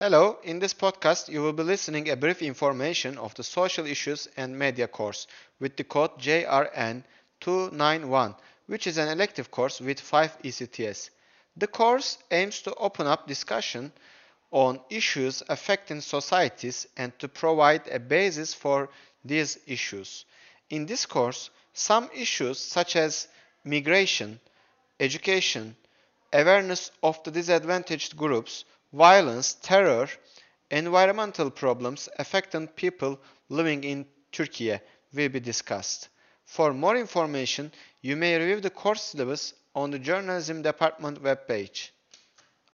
Hello, in this podcast you will be listening a brief information of the Social Issues and Media course with the code JRN291, which is an elective course with 5 ECTS. The course aims to open up discussion on issues affecting societies and to provide a basis for these issues. In this course, some issues such as migration, education, awareness of the disadvantaged groups, violence, terror, environmental problems affecting people living in Turkey will be discussed. For more information, you may review the course syllabus on the Journalism Department webpage.